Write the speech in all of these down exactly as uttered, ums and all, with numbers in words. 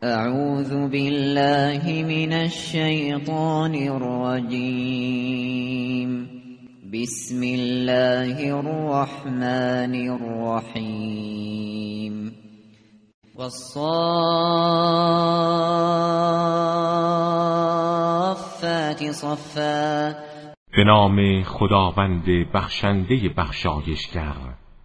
اعوذ بالله من الشیطان الرجیم. بسم الله الرحمن الرحیم. والصافات صفا. به نام خداوند بخشنده بخشایشگر.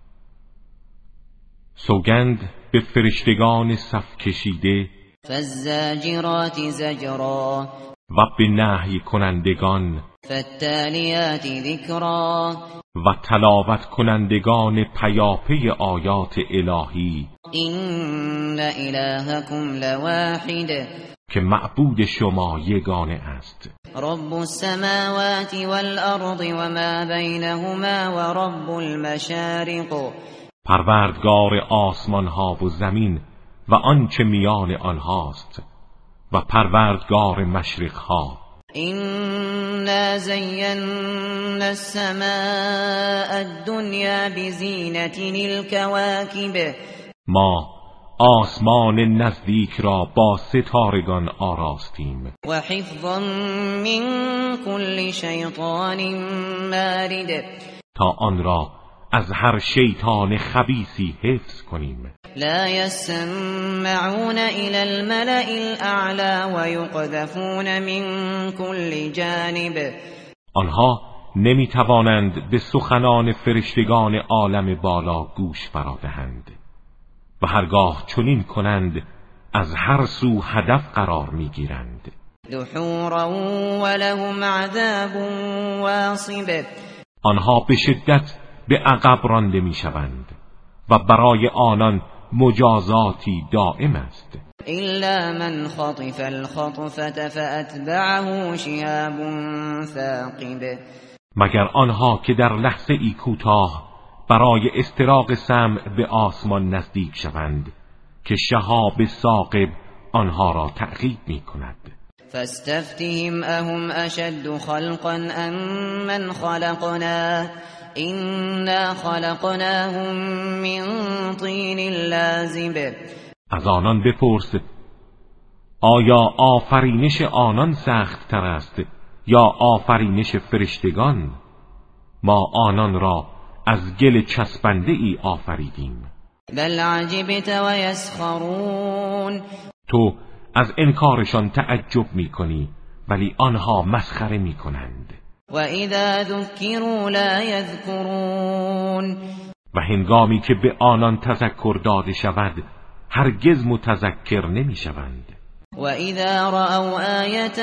سوگند به فرشتگان صف کشیده. فالزاجرات زجرا. و به نهی کنندگان. فالتالیات ذکرا. و تلاوت کنندگان پیاپی آیات الهی. این الهکم لواحد. که معبود شما یگانه است. رب السماوات والارض وما بینهما ورب المشارق. پروردگار آسمان ها و زمین و آنچه میان آنهاست و پروردگار مشرق ها. إنا زينا السماء الدنيا بزينة الكواكب. ما آسمان نزدیک را با ستارگان آراستیم. و حفظا من كل شیطان مارد. تا آن را از هر شیطان خبیثی حفظ کنیم. لا يسمعون إلى الملأ الأعلى ويقذفون من كل جانب. آنها نمی توانند به سخنان فرشتگان عالم بالا گوش فرا دهند و هرگاه چنین کنند از هر سو هدف قرار می گیرند. دحورا ولهم عذاب واصب. آنها به شدت به عقب رانده می شوند و برای آنان مجازاتی دائم است. الا من خطف الخطفة فاتبعه شهاب ثاقب. مگر آنها که در لحظه ای کوتاه برای استراق سمع به آسمان نزدیک شوند که شهاب ثاقب آنها را تعقیب می کند. فاستفتهم اهم اشد خلقا ام من خلقنا إنا خلقناهم من طین لازب. از آنان بپرس آیا آفرینش آنان سخت تر است یا آفرینش فرشتگان؟ ما آنان را از گل چسبنده ای آفریدیم. بل عجبت و یسخرون. تو از انکارشان تعجب می کنی ولی آنها مسخره می کنند. و اذا ذکروا لا یذکرون. و هنگامی که به آنان تذکر داده شود هرگز متذکر نمی شوند. و اذا رأوا آیة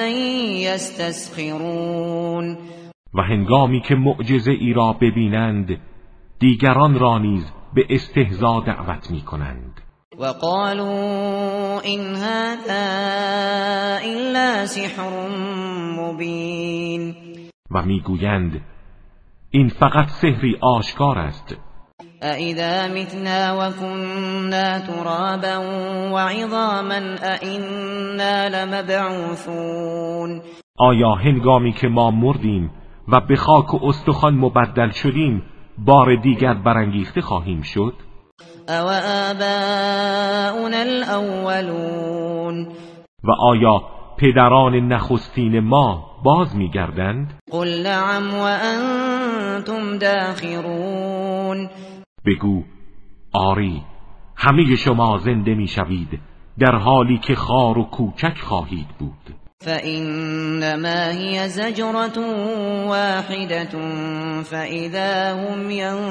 یستسخرون. و هنگامی که معجزه ای را ببینند دیگران را نیز به استهزا دعوت می کنند. و قالوا این هذا الا سحر مبین. و میگویند این فقط سحری آشکار است. أَإِذَا مِتْنَا وَكُنَّا تُرَابًا وَعِظَامًا أَإِنَّا لَمَبْعُوثُونَ. آیا هنگامی که ما مردیم و به خاک و استخوان مبدل شدیم بار دیگر برانگیخته خواهیم شد؟ أَوْ آبَاؤُنَا الْأَوَّلُونَ. و آیا پدران نخستین ما باز می‌گردند؟ قل نعم وأنتم داخرون. بگو آری همه شما زنده میشوید در حالی که خار و کوچک خواهید بود. فإنما هي زجرة واحدة فإذا هم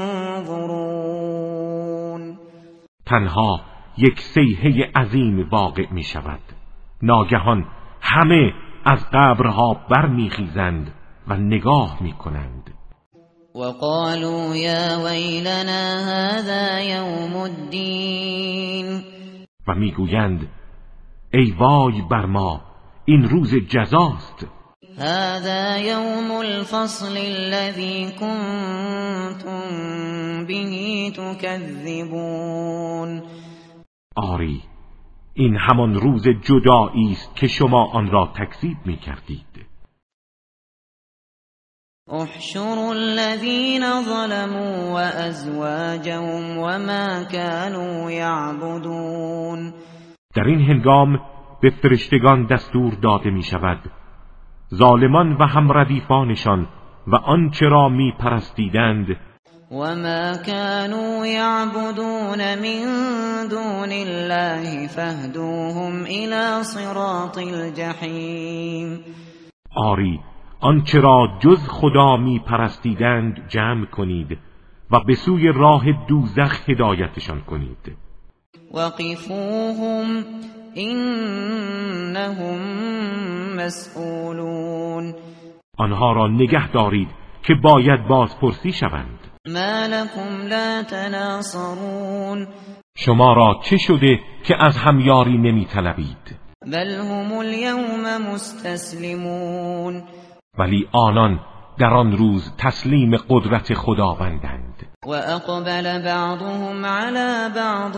ينظرون. تنها یک صیحه عظیم واقع می شود. ناگهان همه از قبرها برمیخیزند و نگاه می کنند. وقالوا يا ويلنا هذا يوم الدين. و میگویند ای وای بر ما این روز جزاست. هذا يوم الفصل الذي كنتم به تكذبون. آری این همان روز جدایی است که شما آن را تکذیب می‌کردید. احشروا الذين ظلموا وازواجهم وما كانوا يعبدون. در این هنگام به فرشتگان دستور داده می شود ظالمان و هم ردیفانشان و آنچه را می پرستیدند وما كانوا يعبدون من دون الله فاهدوهم إلى صراط الجحیم. آری آنچه را جز خدا می پرستیدند جمع کنید و به سوی راه دوزخ هدایتشان کنید. وقفوهم إنهم مسئولون. آنها را نگه دارید که باید بازپرسی شوند. ما لكم لا تناصرون. شما را چه شده که از همیاری نمی طلبید؟ بل هم اليوم مستسلمون. ولی آنان در آن روز تسلیم قدرت خداوندند. و اقبل بعضهم على بعض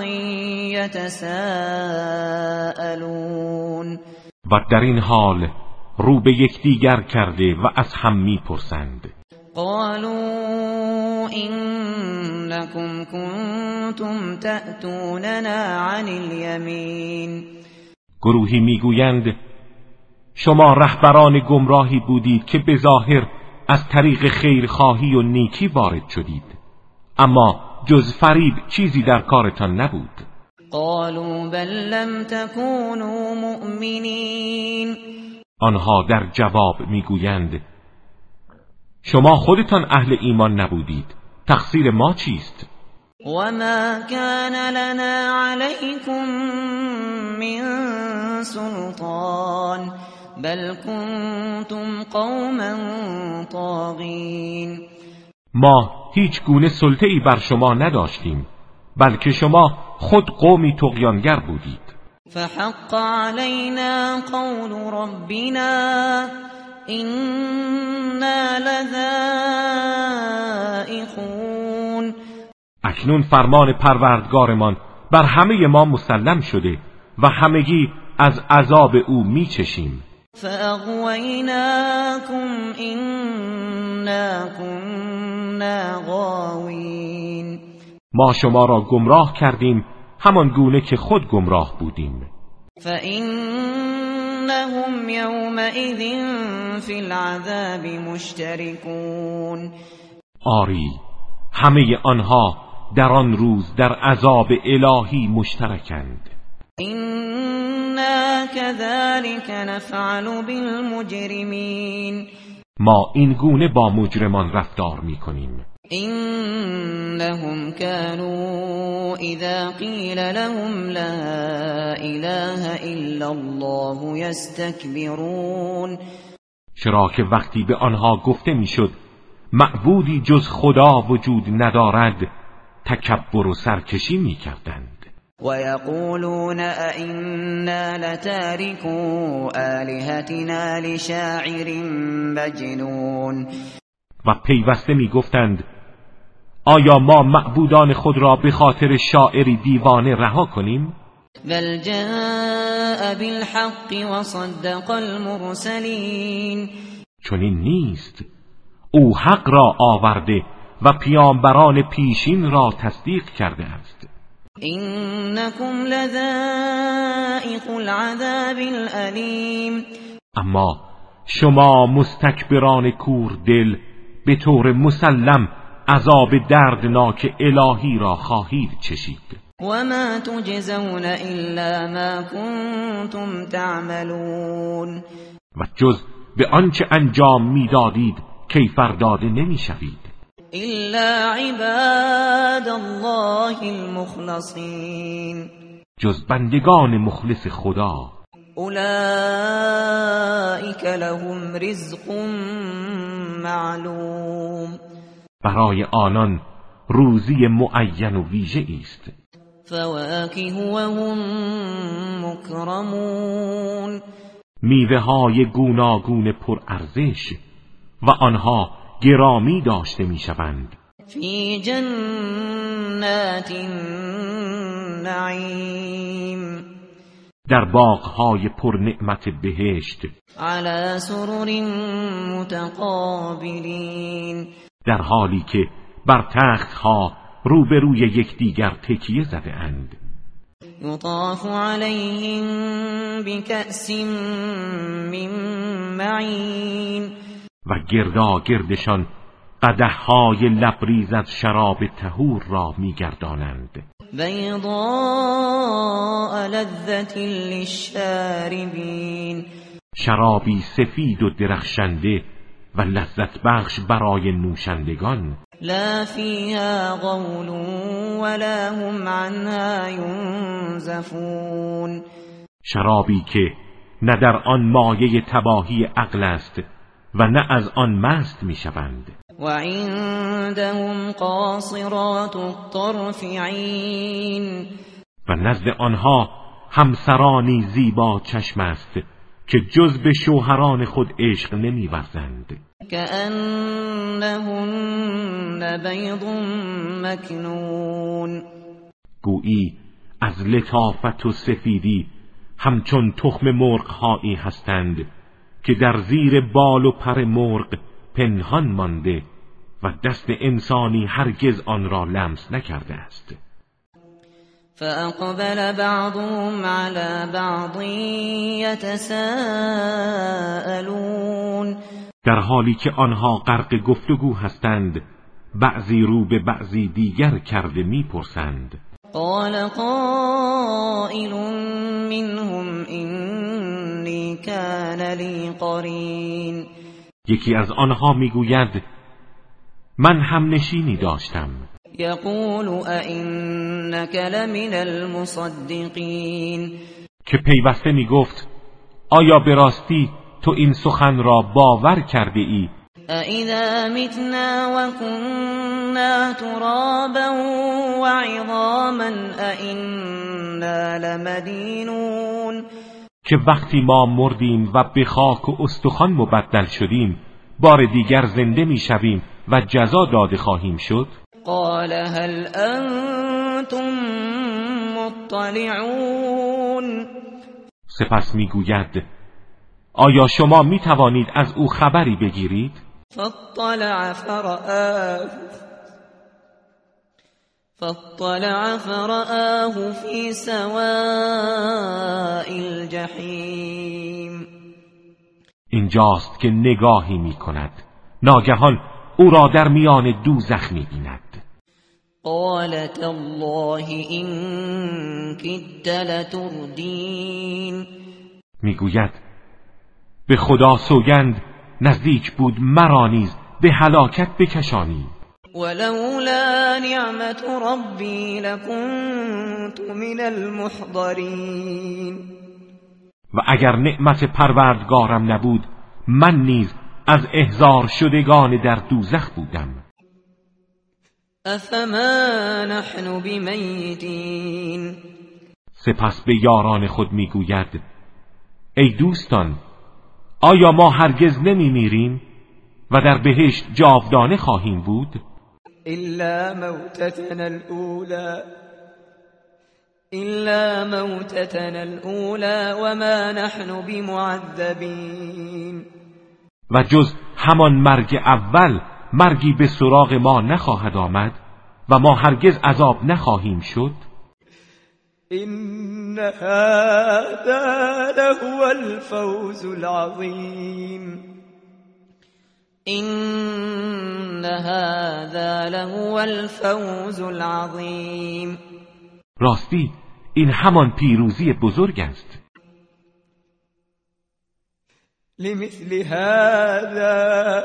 یتساءلون. و در این حال رو به یکدیگر کرده و از هم میپرسند. قالوا انکم کنتم تأتوننا عن الیمین. گروهی میگویند شما رهبران گمراهی بودید که به ظاهر از طریق خیرخواهی و نیکی وارد شدید، اما جز فریب چیزی در کارتان نبود. قالوا بل لم تكونوا مؤمنین. آنها در جواب میگویند شما خودتان اهل ایمان نبودید، تقصیر ما چیست؟ وما كان لنا عليكم من سلطان بل كنتم قوما طاغین. ما هیچ گونه سلطه‌ای بر شما نداشتیم، بلکه شما خود قومی طغیانگر بودید. فحق علينا قول ربنا إنا لذائقون. اکنون فرمان پروردگارمان بر همه ما مسلم شده و همگی از عذاب او میچشیم. فاغویناکم إنا كنا غاوین. ما شما را گمراه کردیم همان گونه که خود گمراه بودیم. فإنهم يومئذ في العذاب مشتركون. آری همه آنها در آن روز در عذاب الهی مشترکند. إنا كذلك نفعل بالمجرمين. ما این گونه با مجرمان رفتار می‌کنیم. إنهم كانوا إذا قيل لهم لا إله إلا الله يستكبرون. چرا که وقتی به آنها گفته میشد معبودی جز خدا وجود ندارد تکبر و سرکشی میکردند. و یقولون ائنا لتارکو آلهتنا لشاعر مجنون. و پیوسته میگفتند آیا ما معبودان خود را به خاطر شاعری دیوانه رها کنیم؟ بل جاء بالحق و صدق المرسلین. چنین نیست، او حق را آورده و پیامبران پیشین را تصدیق کرده است. انکم لذائق العذاب الالیم. اما شما مستکبران کور دل به طور مسلم عذاب دردناک الهی را خواهید چشید. وما تجزون الا ما کنتم تعملون. و جز به آنچه انجام میدادید کیفر داده نمیشوید. الا عباد الله المخلصین. جز بندگان مخلص خدا. اولئک لهم رزق معلوم. برای آنان روزی معین و ویژه است. فواکه و هم مکرمون. میوه های گوناگون پر ارزش و آنها گرامی داشته میشوند. فی جنات النعیم. در باغ‌های پر نعمت بهشت. علی سرر متقابلین. در حالی که بر تخت‌ها روبروی یکدیگر تکیه زده اند. یطاف علیهم بکأس من معین و گردا گردشان قدح‌های لبریز از شراب طهور را می‌گردانند. بیضاء لذة للشاربین، شرابی سفید و درخشنده و لذت بخش برای نوشندگان. لا فیها غول ولا هم عنها ینزفون، شرابی که نه در آن مایه تباهی عقل است و نه از آن مست میشوند. و عندهم قاصرات الطرف عین، و نزد آنها همسرانی زیبا چشم است که جز به شوهران خود عشق نمی‌ورزند. کأنهن بیض مکنون، گویی از لطافت و سفیدی همچون تخم مرغ‌هایی هستند که در زیر بال و پر مرغ پنهان مانده و دست انسانی هرگز آن را لمس نکرده است. فأقبل بعضهم على بعض یتساءلون، در حالی که آنها غرق گفتگو هستند بعضی رو به بعضی دیگر کرده میپرسند. قال قائل منهم اینی کان لی قرین، یکی از آنها میگوید من هم نشینی داشتم. یقول ائنک لمن المصدقین، که پیوسته میگفت آیا به راستی تو این سخن را باور کرده ای؟ اذا متنا و كنا ترابا و عظاما ائنا لمدینون، که وقتی ما مردیم و به خاک و استخوان مبدل شدیم بار دیگر زنده میشویم و جزا داده خواهیم شد. قال هل انتم مطلعون، سپس میگوید آیا شما میتوانید از او خبری بگیرید؟ فاطلع فرآه فاطلع فرآه فی سواء الجحیم، اینجاست که نگاهی میکند ناگهان او را در میان دوزخ می‌بیند. قال تالله إن كدت لتردین، میگوید به خدا سوگند نزدیک بود مرا نیز به هلاکت بکشانی. ولولا نعمت ربی لکنت من المحضرین، و اگر نعمت پروردگارم نبود من نیز از احضار شدگان در دوزخ بودم. افما نحن بمیتین، سپس به یاران خود میگوید ای دوستان آیا ما هرگز نمی میریم و در بهشت جاودانه خواهیم بود؟ الا موتتنا الاولى الا موتتنا الاولى وما نحن بمعذبین، و جز همان مرگ اول مرگی به سراغ ما نخواهد آمد و ما هرگز عذاب نخواهیم شد. این هذا لهو الفوز العظیم این هذا لهو الفوز العظیم، راستی این همان پیروزی بزرگ است. لمثل هذا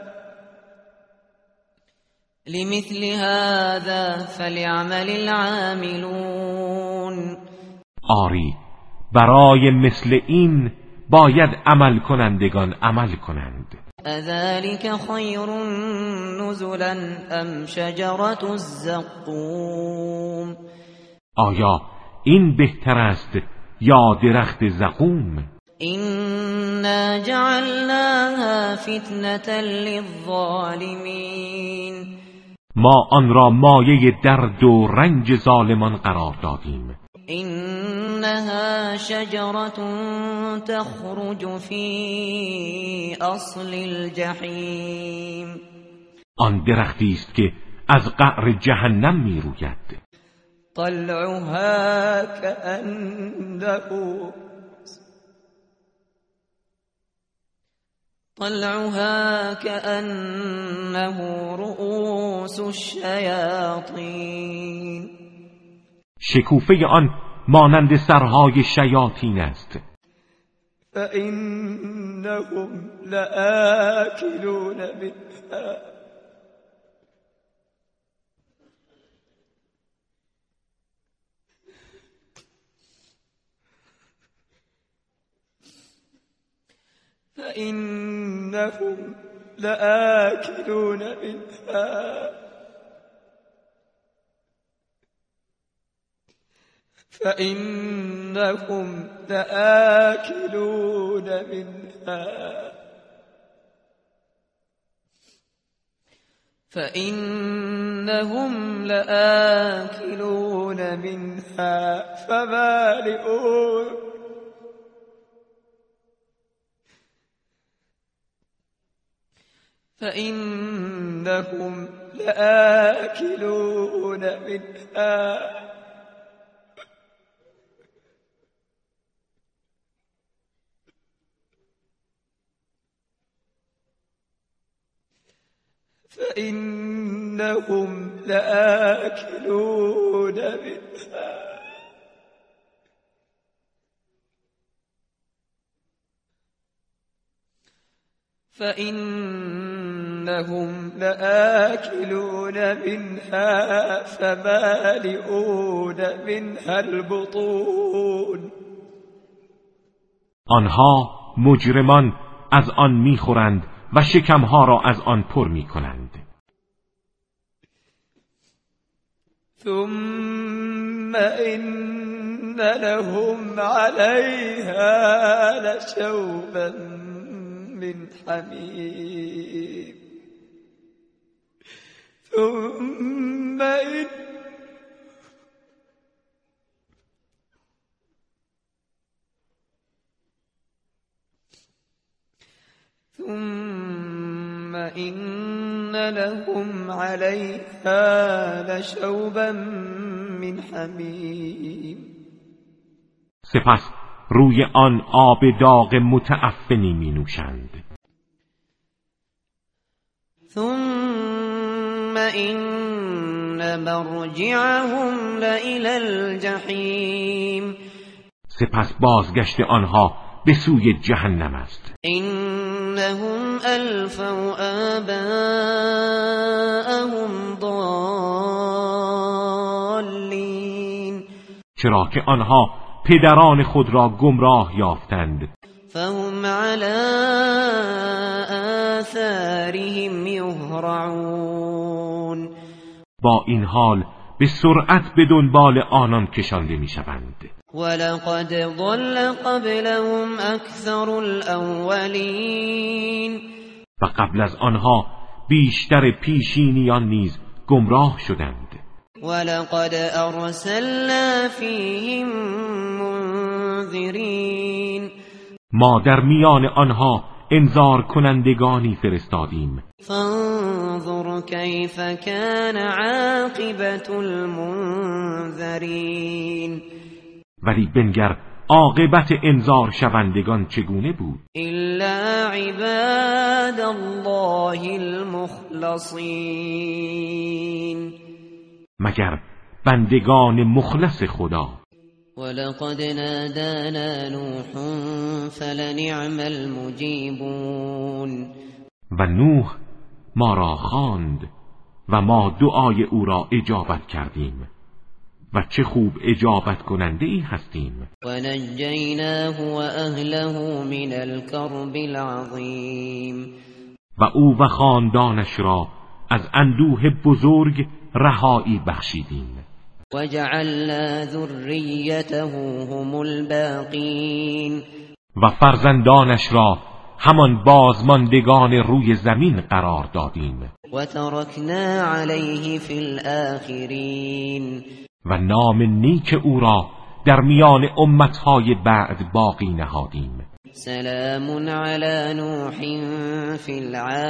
لمثل هذا فليعمل العاملون، آری برای مثل این باید عمل کنندگان عمل کنند. اذلك خیر نزلا ام شجرة الزقوم، آیا این بهتر است یا درخت زقوم؟ إنا جعلناها فتنة للظالمین، ما آن را مایه درد و رنج ظالمان قرار دادیم. إنها شجرة تخرج في اصل الجحیم، آن درختی است که از قعر جهنم می روید. طلعها كأنه طلعها كأنه رؤوس الشیاطین شکوفه آن مانند سرهای شیاطین است. فإنهم لآكلون منها فإنهم لآكلون منها فإنهم لآكلون منها فإنهم لآكلون منها فمالئون فإنهم لآكلون منها فإنهم لآكلون منها فإنهم لآكلون منها فمالئون منها البطون آنها مجرمان از آن میخورند و شکمها را از آن پر میکنند. ثم إن لهم عليها لشوبا من حمیم ثم إن ثم إن لهم عليها لشوبا من حمیم سپس روی آن آب داغ متعفنی می نوشند. ثم إن مرجعهم لإلى الجحیم سپس بازگشت آنها به سوی جهنم است. إنهم ألفوا آباءهم ضالین چرا که آنها پدران خود را گمراه یافتند. فهم على آثارهم یهرعون با این حال به سرعت به دنبال آنان کشانده میشوند. ولقد ضل قبلهم اکثر الاولین و قبل از آنها بیشتر پیشینیان نیز گمراه شدند. ولقد ارسلنا فیهم منذرین ما در میان آنها انذار کنندگانی فرستادیم. فانظر کیف کان عاقبت المنذرین ولی بنگر عاقبت انذار شوندگان چگونه بود. الا عباد الله المخلصین مگر بندگان مخلص خدا. ولقد نادانا نوح فلنعم المجیبون و نوح ما را خواند و ما دعای او را اجابت کردیم و چه خوب اجابت کننده ای هستیم. و نجیناه و اهله من الكرب العظیم و او و خاندانش را از اندوه بزرگ رهایی بخشیدیم. و جعلنا ذریته هم الباقین و فرزندانش را همان بازماندگان روی زمین قرار دادیم. و ترکنا علیه فی الاخرین و نام نیک او را در میان امتهای بعد باقی نهادیم. سلام علی نوح فی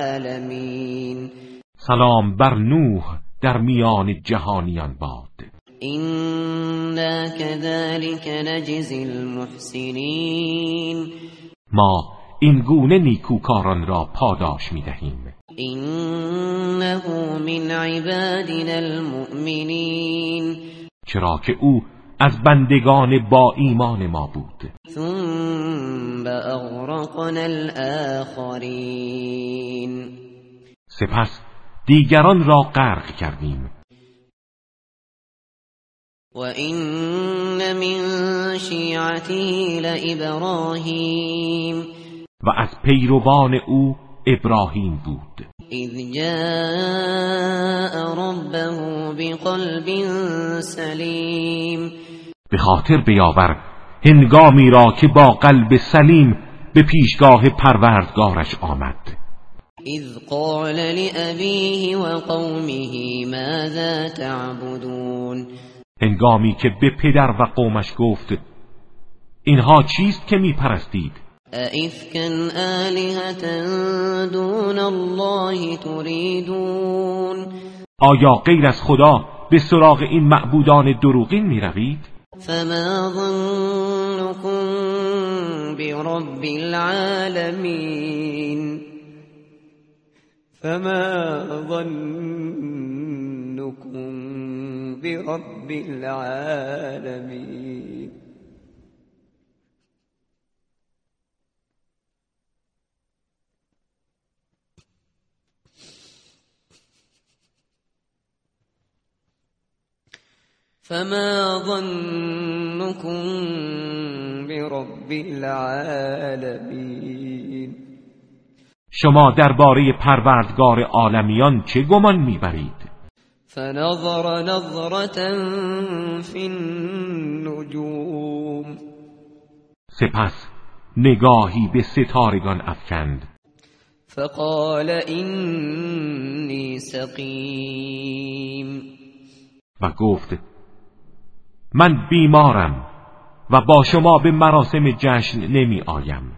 العالمین سلام بر نوح در میان جهانیان باد. إنا كذلك نجزی المحسنین. ما این گونه نیکوکاران را پاداش می‌دهیم. إنه من عبادنا المؤمنین. چرا که او از بندگان با ایمان ما بود. ثم اغرقنا الآخرین. سپس دیگران را غرق کردیم. و این من شیعته لابراهیم. و از پیروان او ابراهیم بود. اذ جاء ربه بقلب سلیم. به خاطر بیاور هنگامی را که با قلب سلیم به پیشگاه پروردگارش آمد. اذ قال لأبیه و قومه ماذا تعبدون. هنگامی که به پدر و قومش گفت اینها چیست که می پرستید؟ ائفکا آلهة دون الله تریدون. آیا غیر از خدا به سراغ این معبودان دروغین می روید؟ فما ظنكم برب العالمین. فما ظنكم برب العالمین. فما ظنكم برب العالمین. شما درباره پروردگار عالمیان چه گمان میبرید؟ فنظر نظرة فی النجوم. سپس نگاهی به ستارگان افکند. فقال اینی سقیم. و گفت من بیمارم و با شما به مراسم جشن نمی آیم.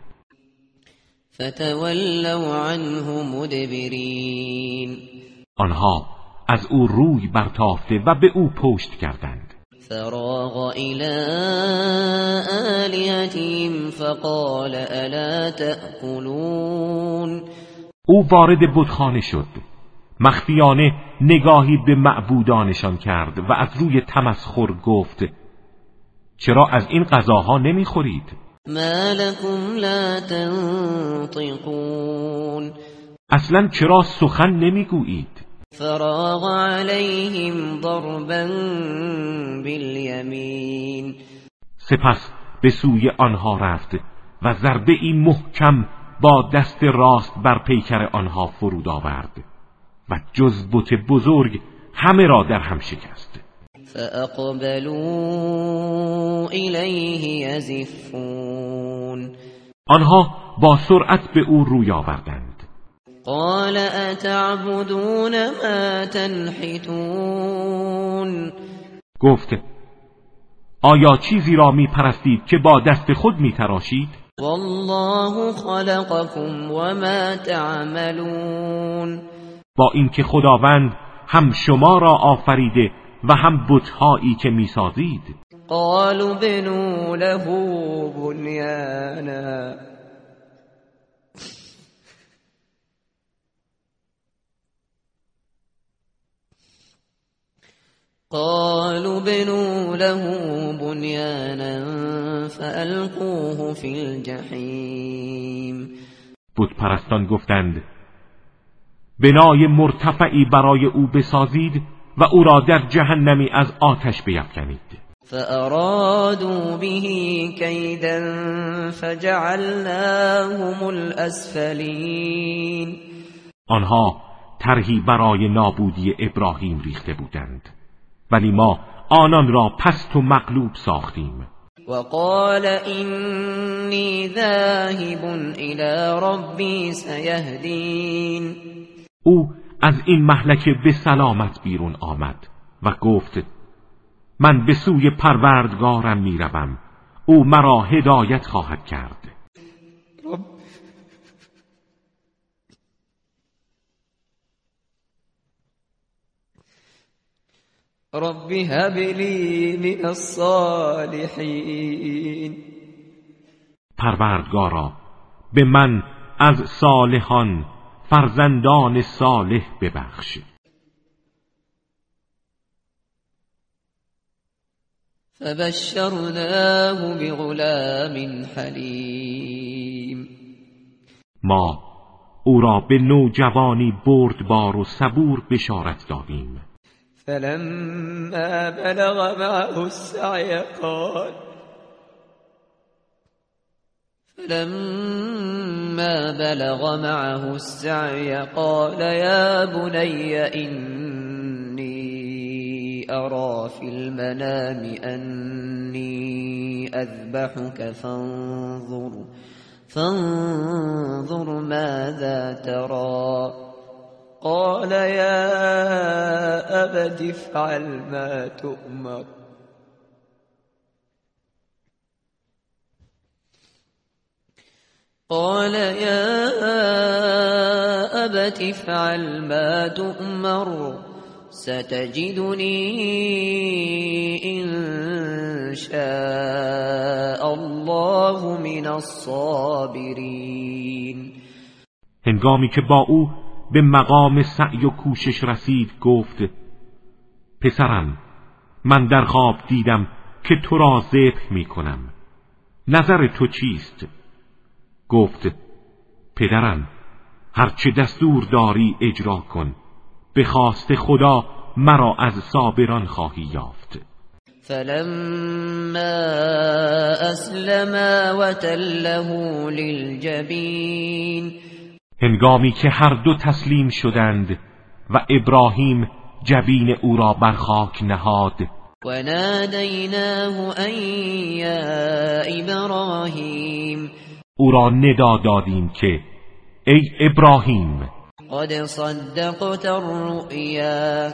فتولوا عنه مدبرین. آنها از او روی برتافته و به او پشت کردند. فراغ الی آلهتهم فقال الا تأکلون. او وارد بتخانه شد، مخفیانه نگاهی به معبودانشان کرد و از روی تمسخر گفت چرا از این غذاها نمیخورید؟ ما لكم لا تنطقون. اصلا چرا سخن نمیگویید؟ فراغ علیهم ضربا بالیمین. سپس به سوی آنها رفت و ضربه ای محکم با دست راست بر پیکر آنها فرود آورد و جز بت بزرگ همه را در هم شکست. فاقبلوا الیه یزفون. آنها با سرعت به او روی آوردند. قال اتعبدون ما تنحتون. گفت آیا چیزی را می پرستید که با دست خود می تراشید؟ والله خلقكم وما تعملون. با اینکه خداوند هم شما را آفریده و هم بت‌هایی که می‌سازید. قالوا بنوا له بنیانا. قالوا بنوا له بنیانا فألقوه فی الجحیم. بت پرستان گفتند بنای مرتفعی برای او بسازید و او را در جهنمی از آتش بیفکنید. فأرادوا به کیدا فجعلناهم الاسفلین. آنها طرحی برای نابودی ابراهیم ریخته بودند ولی ما آنان را پست و مغلوب ساختیم. وقال اینی ذاهب الی ربی سیهدین. او از این مهلکه به سلامت بیرون آمد و گفت من به سوی پروردگارم میروم، او مرا هدایت خواهد کرد. رب رب هب لی من الصالحین. پروردگارا به من از صالحان فرزندان صالح ببخش. فبشرناه بغلام حلیم. ما او را به نوجوانی بردبار و صبور بشارت دادیم. فلما بلغ معه السعی قال فلما بلغ معه السعي قال يا بني إني أرى في المنام أني أذبحك فانظر فانظر ماذا ترى قال يا أبت افعل ما تؤمر قال يا أبت افعل ما تؤمر ستجدني إن شاء الله من الصابرين. هنگامی که با او به مقام سعی و کوشش رسید گفت پسرم من در خواب دیدم که تو را ذبح می کنم، نظر تو چیست؟ گفت پدرم هرچه دستور داری اجرا کن، به خواست خدا مرا از صابران خواهی یافت. فلما اسلما وتله للجبین. هنگامی که هر دو تسلیم شدند و ابراهیم جبین او را بر خاک نهاد و نادیناه ان یا ابراهیم. او را ندا دادیم که ای ابراهیم قد صدقت الرؤیا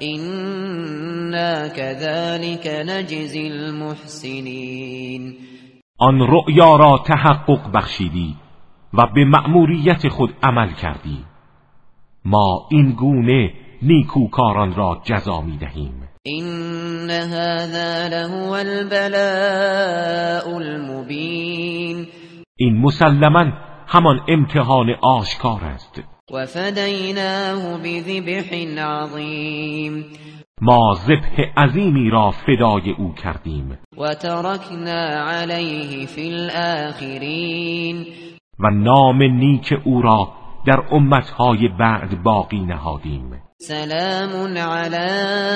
إنا كذلك نجزی المحسنین. آن رؤیا را تحقق بخشیدی و به مأموریت خود عمل کردی، ما این گونه نیکوکاران را جزا می دهیم. این هذا لهو البلاء المبین. این مسلماً همان امتحان آشکار است. و فدیناه بذبح عظیم. ما ذبح عظیمی را فدای او کردیم. و ترکنا علیه فی الاخرین. و نام نیک او را در امتهای بعد باقی نهادیم. سلام علی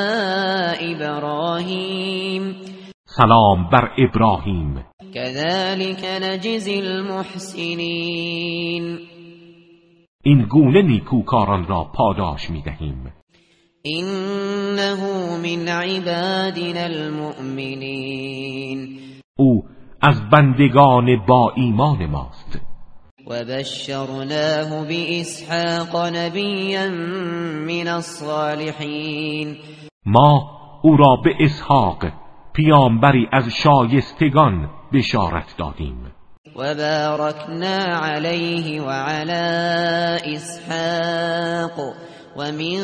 ابراهیم. سلام بر ابراهیم. كذلك نجزی المحسنین. این گونه نیکوکاران را پاداش می دهیم. انه من عبادنا المؤمنین. او از بندگان با ایمان ماست. و بشرناه باسحاق نبیا من الصالحین. ما او را به اسحاق پیامبری از شایستگان بشارت دادیم. و بارکنا علیه و علی اسحاق و من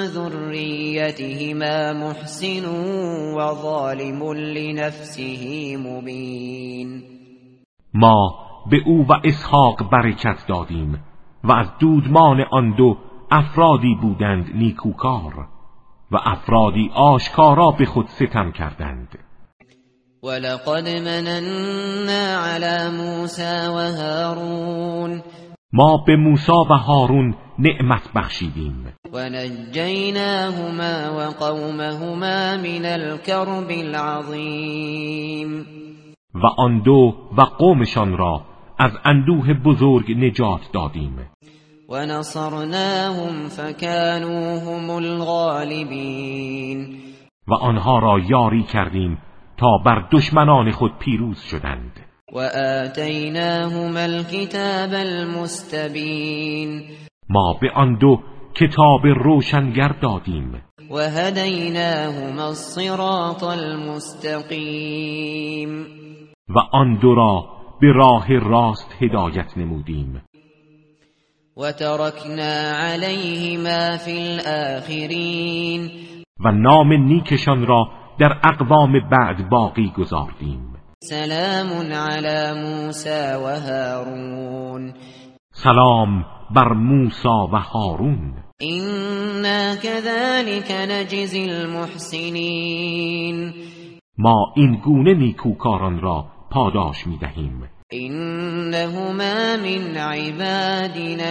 ذریتهما محسن و ظالم لنفسه مبین. ما به او و اسحاق برکت دادیم و از دودمان آن دو افرادی بودند نیکوکار و افرادی آشکارا به خود ستم کردند. ولقد مننا علی موسی و هارون. ما به موسی و هارون نعمت بخشیدیم. و نجیناهما و قومهما من الكرب العظیم. و آن دو و قومشان را از اندوه بزرگ نجات دادیم. و نصرناهم فكانوا هم الغالبین. و آنها را یاری کردیم تا بر دشمنان خود پیروز شدند. و آتیناهما الكتاب المستبین. ما به آن دو کتاب روشنگر دادیم. و هدیناهما الصراط المستقیم. و آن دو را به راه راست هدایت نمودیم. و ترکنا علیهما فی الاخرین. و نام نیکشان را در اقوام بعد باقی گذاردیم. سلام علی موسی و هارون. سلام بر موسی و هارون. إنا كذلك نجزی المحسنین. ما این گونه نیکوکاران را پاداش می‌دهیم. إنهما من عبادنا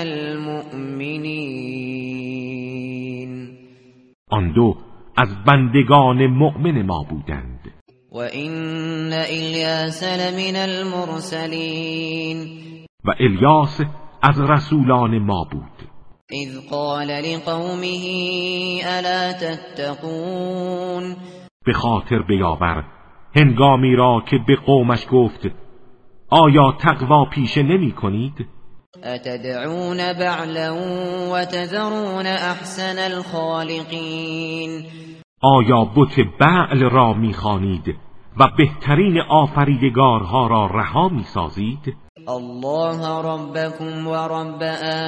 المؤمنین. آن دو از بندگان مؤمن ما بودند. و این الیاس لمن المرسلین. و الیاس از رسولان ما بود. اذ قال لقومه الا تتقون. به خاطر بیاور هنگامی را که به قومش گفت آیا تقوا پیشه نمی کنید؟ اتدعون بعلا و تذرون احسن الخالقین. آیا بت بعل را می خوانید و بهترین آفریدگارها را رها می سازید؟ الله ربکم و رب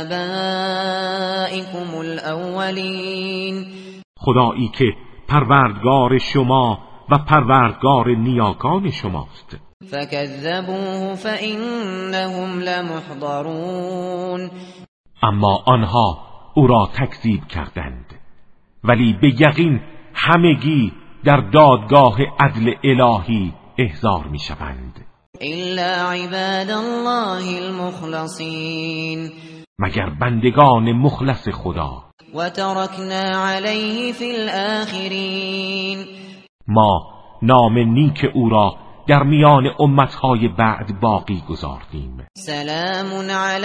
آبائکم الاولین. خدایی که پروردگار شما و پروردگار نیاکان شماست. فکذبوه فإنهم لمحضرون. اما آنها او را تکذیب کردند، ولی به یقین همگی در دادگاه عدل الهی احضار می شوند. الا عباد الله المخلصین. مگر بندگان مخلص خدا. و ترکنا علیه فی الاخرین. ما نام نیک او را در میان امتهای بعد باقی گذاردیم. سلام علی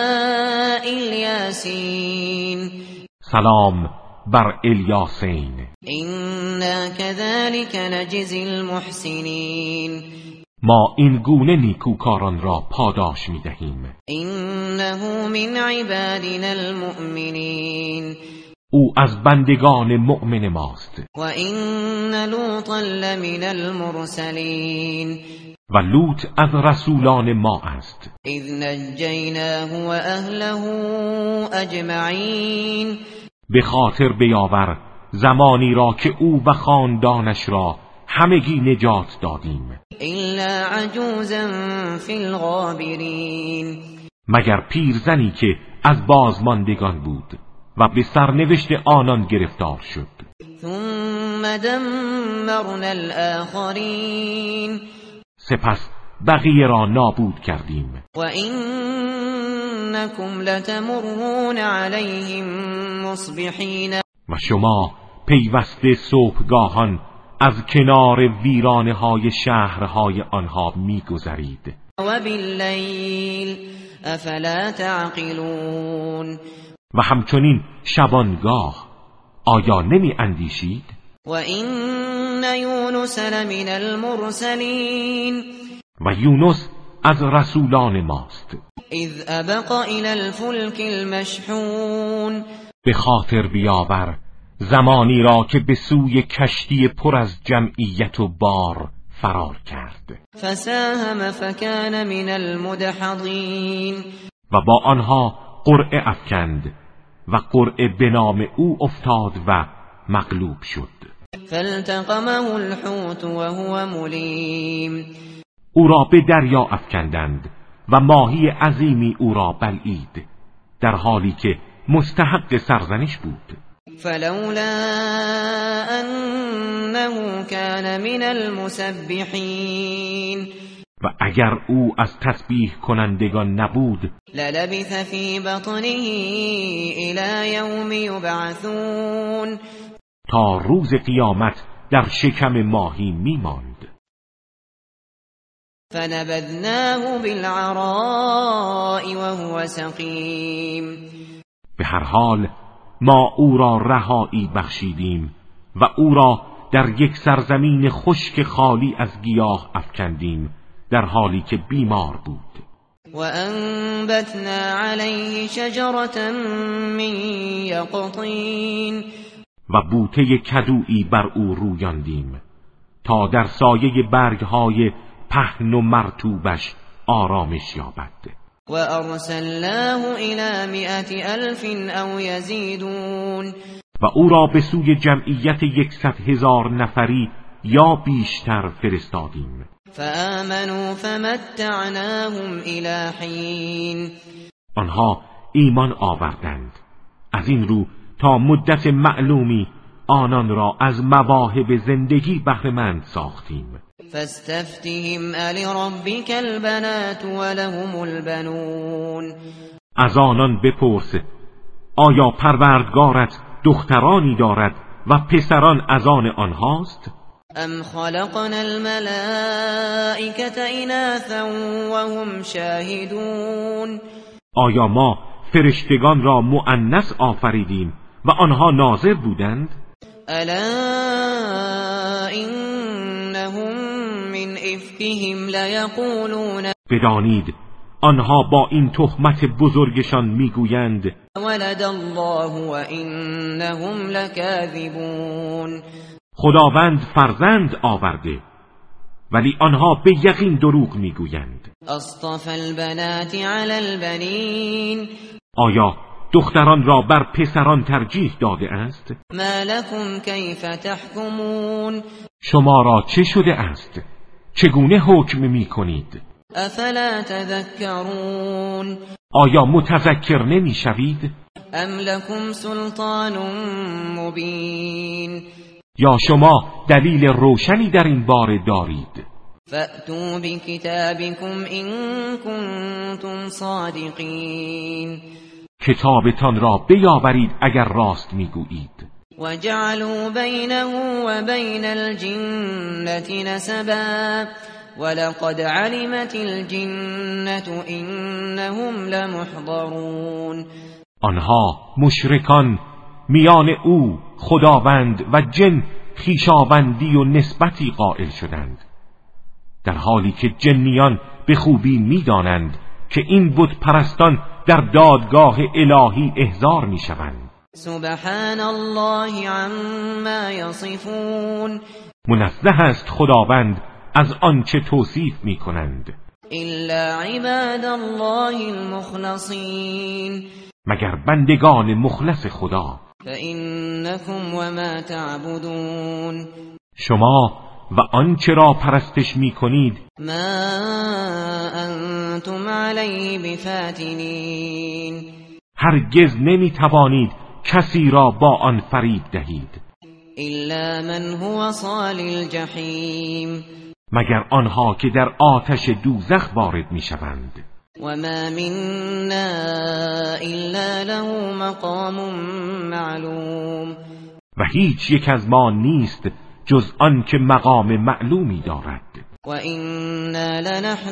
الیاسین. سلام بر الیاسین. اینا کذلک نجزی المحسنین. ما این گونه نیکوکاران را پاداش می دهیم. اینه من عبادنا المؤمنین. او از بندگان مؤمن ماست. و این لوطا لمن المرسلین. و لوط از رسولان ما است. اذ نجیناه و اهله اجمعین. به خاطر بیاور زمانی را که او و خاندانش را همگی نجات دادیم. الا عجوزا فی الغابرین. مگر پیرزنی که از بازماندگان بود و به سرنوشت آنان گرفتار شد. ثم دمرنا الاخرین. سپس بقیه را نابود کردیم. و اینکم لتمرون علیهم مصبحین. و شما پیوسته صبحگاهان از کنار ویرانه های شهرهای آنها میگذرید. و باللیل افلا تعقلون. و همچنین شبانگاه آیا نمی اندیشید؟ و این یونس لمن المرسلین. و یونس از رسولان ماست. اذ ابق الى الفلک المشحون. به خاطر بیاور زمانی را که به سوی کشتی پر از جمعیت و بار فرار کرد. فساهم فکان من المدحضین. و با آنها قرعه افکند و قرعه به نام او افتاد و مغلوب شد. فالتقمه الحوت وهو ملیم. او را به دریا افکندند و ماهی عظیمی او را بلعید در حالی که مستحق سرزنش بود. فلولا انه كان من المسبحین. و اگر او از تسبیح کنندگان نبود للبث فی بطنه الی یوم یبعثون. تا روز قیامت در شکم ماهی میماند. فنبذناه بالعراء وهو سقیم. به هر حال ما او را رهایی بخشیدیم و او را در یک سرزمین خشک خالی از گیاه افکندیم در حالی که بیمار بود. و انبتنا علیه شجرة من یقطین. و بوته کدویی بر او رویاندیم تا در سایه برگهای پهن و مرطوبش آرامش یابد. و ارسلناه الی مئة الف او یزیدون. و او را به سوی جمعیت یکصد هزار نفری یا بیشتر فرستادیم. فآمنوا فمتعناهم الی حین. آنها ایمان آوردند، از این رو تا مدت معلومی آنان را از مواهب زندگی بهره‌مند ساختیم. فاستفتهم ألربك البنات ولهم البنون. از آنان بپرس آیا پروردگارت دخترانی دارد و پسران از آن آنهاست؟ ام خلقنا الملائکة اناثا وهم شاهدون. آیا ما فرشتگان را مؤنث آفریدیم و آنها ناظر بودند؟ الا انهم من افکهم لیقولون. بدانید آنها با این تهمت بزرگشان میگویند ولد الله و انهم لکاذبون. خداوند فرزند آورده ولی آنها به یقین دروغ میگویند. اصطفى البنات علی البنین. آیا دختران را بر پسران ترجیح داده است؟ ما لكم کیف تحکمون. شما را چه شده است؟ چگونه حکم میکنید؟ افلا تذکرون. آیا متذکر نمیشوید؟ ام لكم سلطان مبین. یا شما دلیل روشنی در این باره دارید؟ فأتوا بکتابکم ان کنتم صادقین. کتابتان را بیاورید اگر راست میگویید. وجعلوا بینه و بین الجنة نسبا ولقد علمت الجنة انهم لمحضرون. آنها مشرکان میان او خداوند و جن خویشاوندی و نسبتی قائل شدند، در حالی که جنیان به خوبی میدانند که این بت پرستان در دادگاه الهی احضار میشوند. سبحان الله عما یصفون. منزه است خداوند از آنچه توصیف میکنند. الا عباد الله المخلصین. مگر بندگان مخلص خدا. فإنکم وما تعبدون. شما و آنچه را پرستش میکنید ما انتم علیه بفاتنین. هرگز نمیتوانید کسی را با آن فریب دهید الا من هو صال الجحیم. مگر آنها که در آتش دوزخ وارد میشوند. و ما منا الا له مقام معلوم. و هیچ یک از ما نیست جز آن که مقام معلومی دارد. و انا لنحن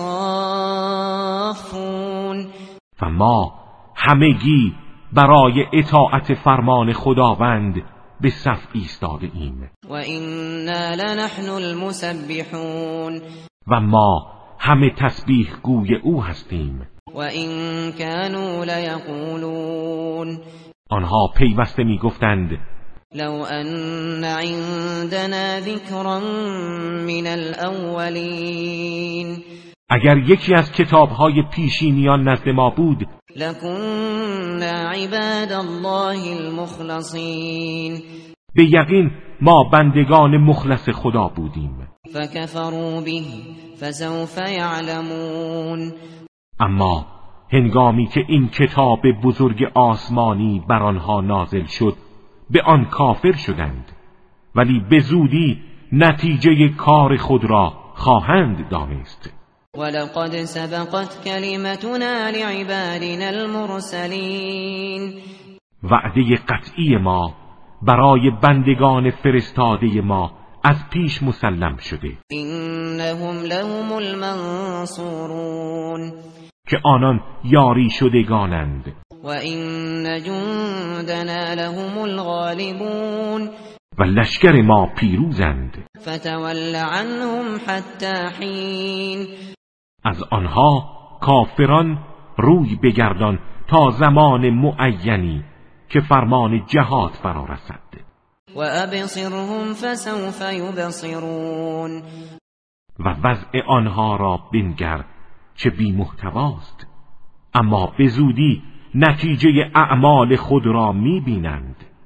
الصافون. و ما همگی برای اطاعت فرمان خداوند به صف ایستاده ایم. و انا لنحن المسبحون. و ما همه تسبیح گوی او هستیم. و این كانوا لیقولون. آنها پیوسته می گفتند لو ان عندنا ذکرا من الاولین. اگر یکی از کتابهای پیشینیان نزد ما بود لکنا عباد الله المخلصین. به یقین ما بندگان مخلص خدا بودیم. فکفروا به فسوف یعلمون. اما هنگامی که این کتاب بزرگ آسمانی بر آنها نازل شد به آن کافر شدند، ولی به زودی نتیجه کار خود را خواهند دانست. ولقد سبقت کلمتنا لعبادنا المرسلین. وعده قطعی ما برای بندگان فرستاده ما از پیش مسلم شده. انهم لهم المنصورون. که آنان یاری شدگانند. و این جندنا لهم الغالبون. و لشکر ما پیروزند. فتول عنهم حتی حین. از آنها کافران روی بگردان تا زمان معینی که فرمان جهاد فرا رسد. و ابصرهم فسوف یبصرون. و وضع آنها را بنگر چه بی محتواست، اما به زودی نتیجه اعمال خود را می بینند.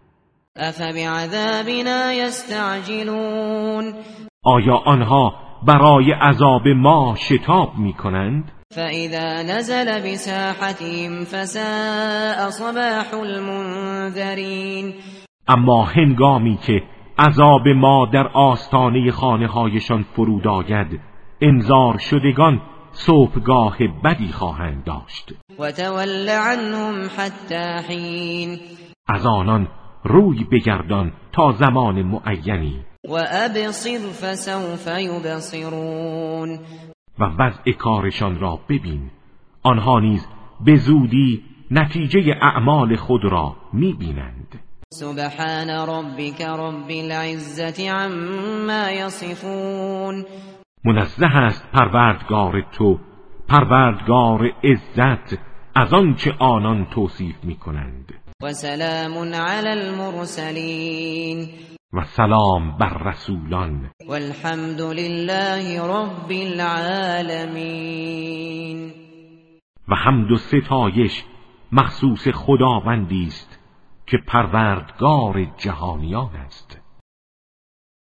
افبعذابنا یستعجلون آیا آنها برای عذاب ما شتاب می کنند؟ فاذا نزل بساحتهم فساء صباح المنذرین اما هنگامی که عذاب ما در آستانه خانه هایشان فرود آید، انذار شدگان صبحگاه بدی خواهند داشت. و تول عنهم حتی حین از آنان روی بگردان تا زمان معینی. و ابصر فسوف یبصرون و وضع کارشان را ببین، آنها نیز به زودی نتیجه اعمال خود را میبینند. سبحان ربک رب العزة عما یصفون منزه است پروردگار تو، پروردگار عزت، از آنچه آنان توصیف میکنند. و سلام علی المرسلین و سلام بر رسولان. والحمد لله رب العالمین و حمد و ستایش مخصوص خداوندی است که پروردگار جهانیان است.